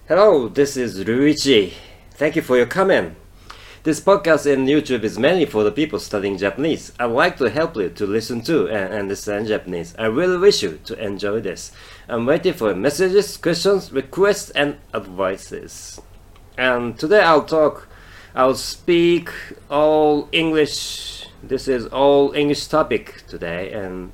Hello, this is Ruichi. Thank you for your comment. This podcast and YouTube is mainly for the people studying Japanese. I'd like to help you to listen to and understand Japanese. I really wish you to enjoy this. I'm waiting for messages, questions, requests, and advices. And today I'll speak all English. This is all English topic today. And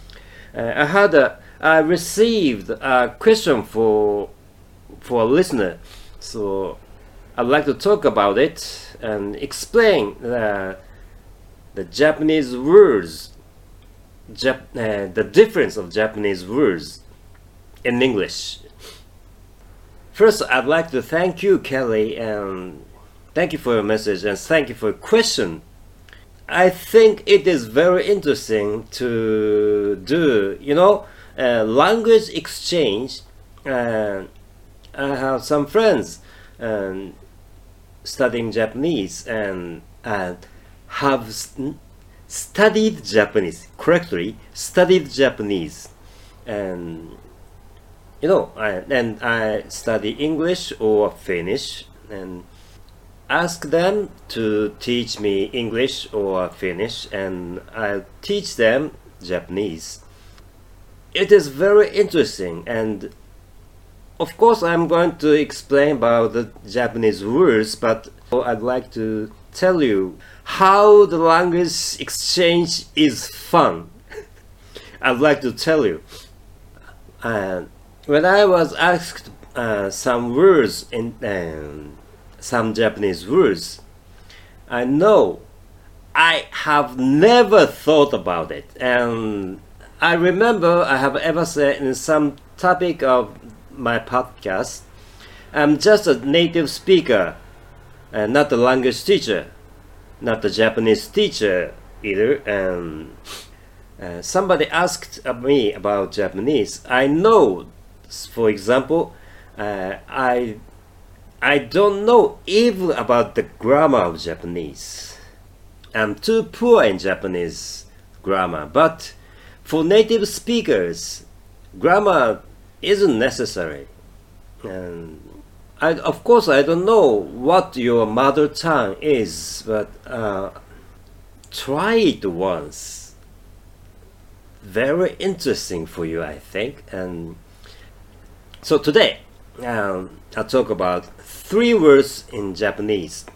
I received a question for a listener, so I'd like to talk about it and explain the Japanese words, the difference of Japanese words in English. First, I'd like to thank you, Kelly, and thank you for your message and thank you for your question. I think it is very interesting to do, language exchange. I have some friends studying Japanese and have studied Japanese correctly. Studied Japanese, and I study English or Finnish, and ask them to teach me English or Finnish, and I teach them Japanese. It is very interesting, and of course, I'm going to explain about the Japanese words, but I'd like to tell you how the language exchange is fun. I'd like to tell you. When I was asked some words in some Japanese words, I know I have never thought about it, and I remember I have ever said in some topic of my podcast, I'm just a native speaker and not a language teacher, not a Japanese teacher either. And somebody asked me about Japanese. I know, for example, I don't know even about the grammar of Japanese. I'm too poor in Japanese grammar, but for native speakers, grammar isn't necessary. And of course I don't know what your mother tongue is, but try it once. Very interesting for you, I think. And so today I'll talk about 3 words in Japanese: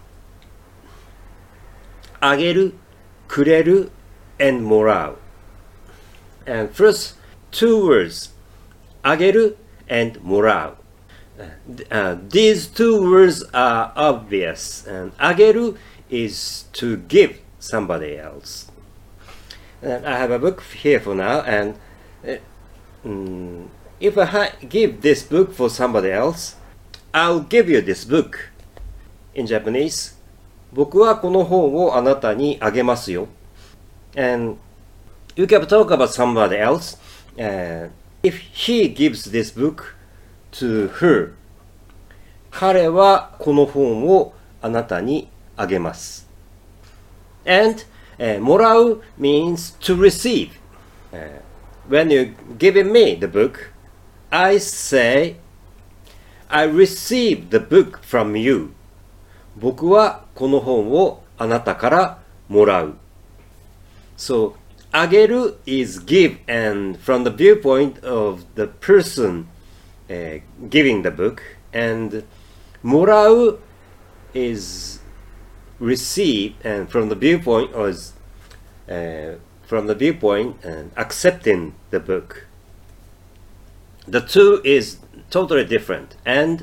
ageru, kureru, and morau. And first 2 words, ageru and morau. These 2 words are obvious, and ageru is to give somebody else. And I have a book here for now, and if I give this book for somebody else, I'll give you this book. In Japanese, 僕はこの本をあなたにあげますよ. And you can talk about somebody else. If he gives this book to her, 彼はこの本をあなたにあげます。And もらう means to receive. When you're giving me the book, I say, I receive the book from you. 僕はこの本をあなたからもらう。So, あげる is give, and from the viewpoint of the person giving the book, and もらう is receive, and from the viewpoint and accepting the book. The 2 is totally different, and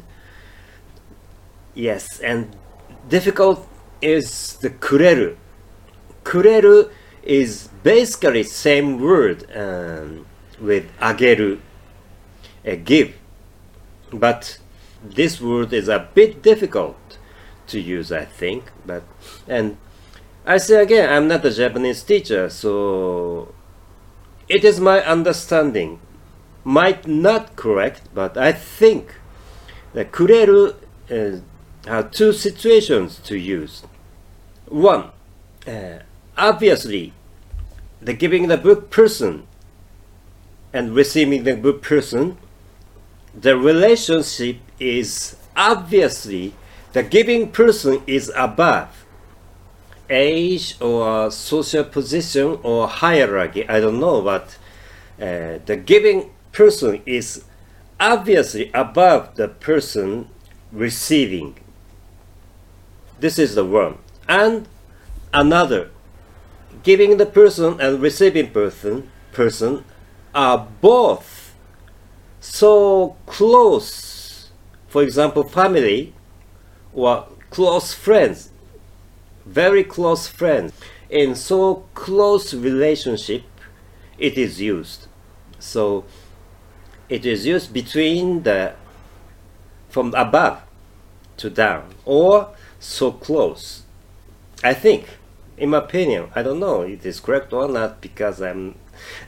yes, and difficult is the くれる. くれる is basically same word with あげる, give, but this word is a bit difficult to use, I think. And I say again, I'm not a Japanese teacher, so it is my understanding, might not correct, but I think that くれるhave 2 situations to use. One, obviously, the giving the book person and receiving the book person, the relationship is obviously the giving person is above age or social position or hierarchy. I don't know, but the giving person is obviously above the person receiving. This is the one. And another, giving the person and receiving person are both so close. For example, family or close friends, very close friends. In so close relationship, it is used. So it is used between from above to down, or so close. I think, in my opinion, I don't know if it is correct or not, because I'm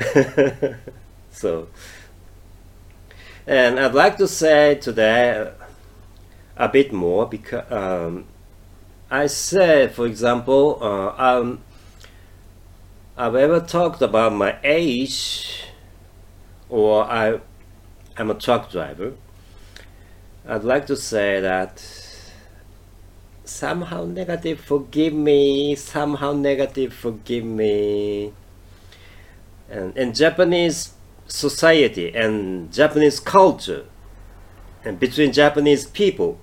so. And I'd like to say today a bit more, because I said, for example, I've ever talked about my age, or I'm a truck driver. I'd like to say that somehow negative, forgive me, somehow negative, forgive me. And in Japanese society and Japanese culture, and between Japanese people,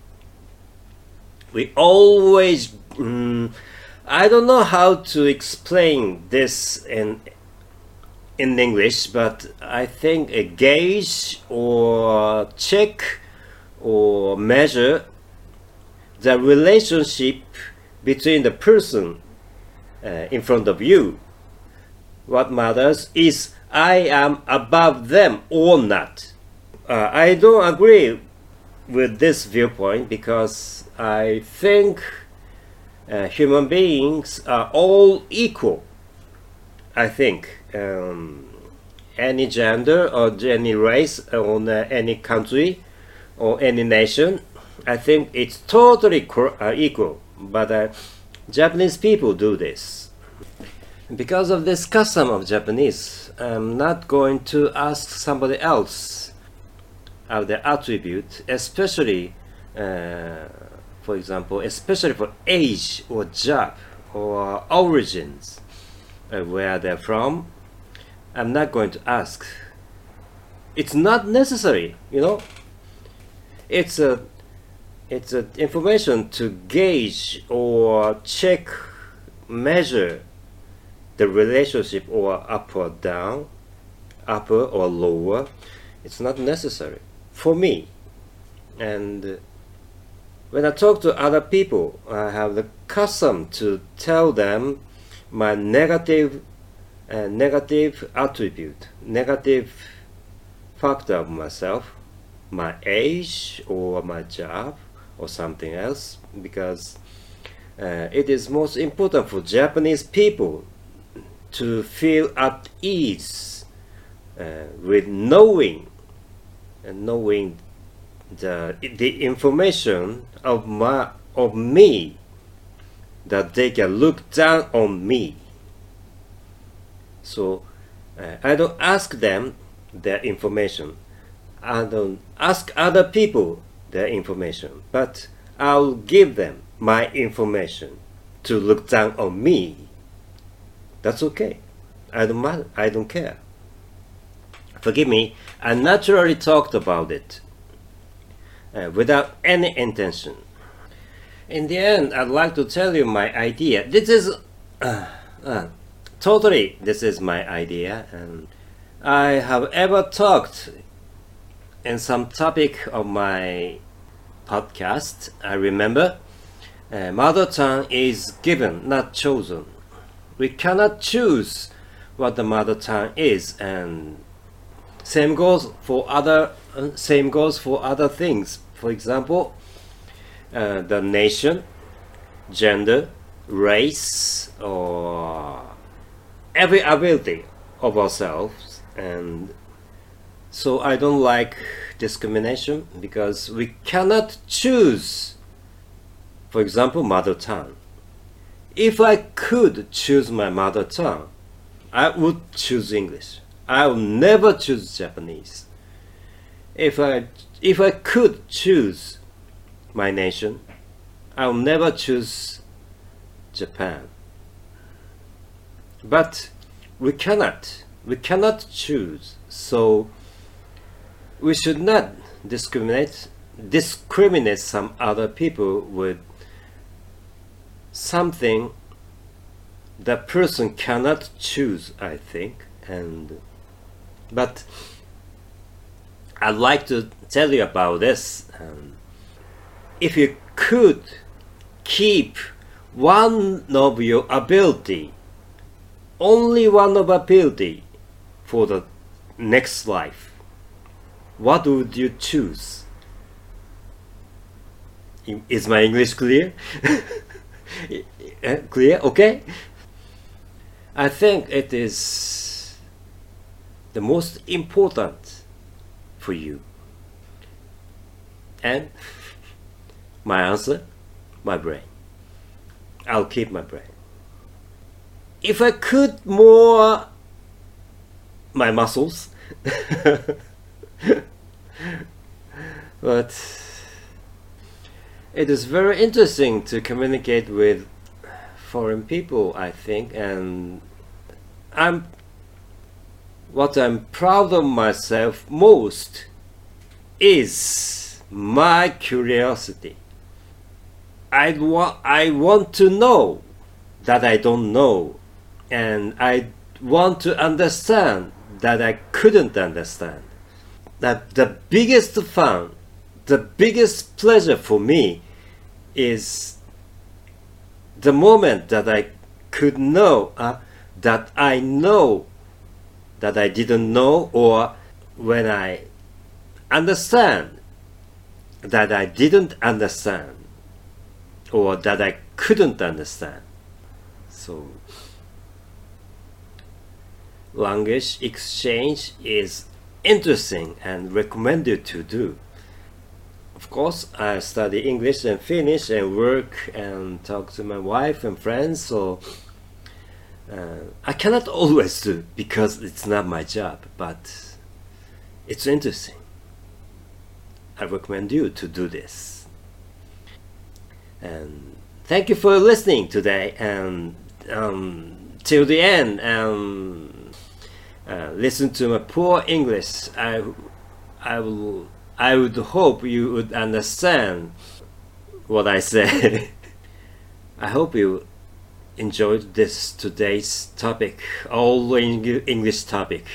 we always, I don't know how to explain this in English, but I think a gauge or check or measure the relationship between the person in front of you. What matters is I am above them or not. I don't agree with this viewpoint, because I think human beings are all equal. I think any gender or any race or any country or any nation, I think it's totally equal. But Japanese people do this. Because of this custom of Japanese, I'm not going to ask somebody else of the attribute, especially, for example, especially for age or job or origins, where they're from. I'm not going to ask. It's not necessary, you know. It's a information to gauge or check, measure the relationship, or up or down, upper or lower. It's not necessary for me. And when I talk to other people, I have the custom to tell them my negative attribute, negative factor of myself, my age or my job or something else, because it is most important for Japanese people to feel at ease with knowing the information of me, that they can look down on me. So I don't ask them their information. I don't ask other people their information, but I'll give them my information to look down on me. That's okay. I don't matter. I don't care. Forgive me, I naturally talked about it without any intention. In the end, I'd like to tell you my idea. This is totally, this is my idea, and I have ever talked in some topic of my podcast. I remember mother tongue is given, not chosen. We cannot choose what the mother tongue is, and same goes for other things. For example, the nation, gender, race, or every ability of ourselves. And so I don't like discrimination, because we cannot choose, for example, mother tongue. If I could choose my mother tongue, I would choose English. I will never choose Japanese. If I could choose my nation, I'll never choose Japan. But we cannot choose, so we should not discriminate some other people with something that person cannot choose, I think. But I'd like to tell you about this. If you could keep one of your ability, only one of ability for the next life, what would you choose? Is my English clear? Clear? Okay? I think it is the most important for you. And my answer, my brain. I'll keep my brain. If I could more my muscles, but it is very interesting to communicate with foreign people, I think, and what I'm proud of myself most is my curiosity. I want to know that I don't know, and I want to understand that I couldn't understand. That the biggest fun, the biggest pleasure for me is the moment that I could know that I know that I didn't know, or when I understand that I didn't understand, or that I couldn't understand. So language exchange is interesting and recommended to do. Of course, I study English and Finnish and work and talk to my wife and friends, so I cannot always do because it's not my job, but it's interesting. I recommend you to do this. And thank you for listening today, and till the end, listen to my poor English. I would hope you would understand what I say. I hope you enjoyed today's topic, all English topic.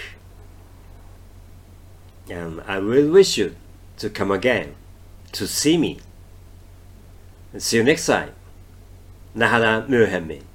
And I will wish you to come again to see me. And see you next time. Nahara Muhammed.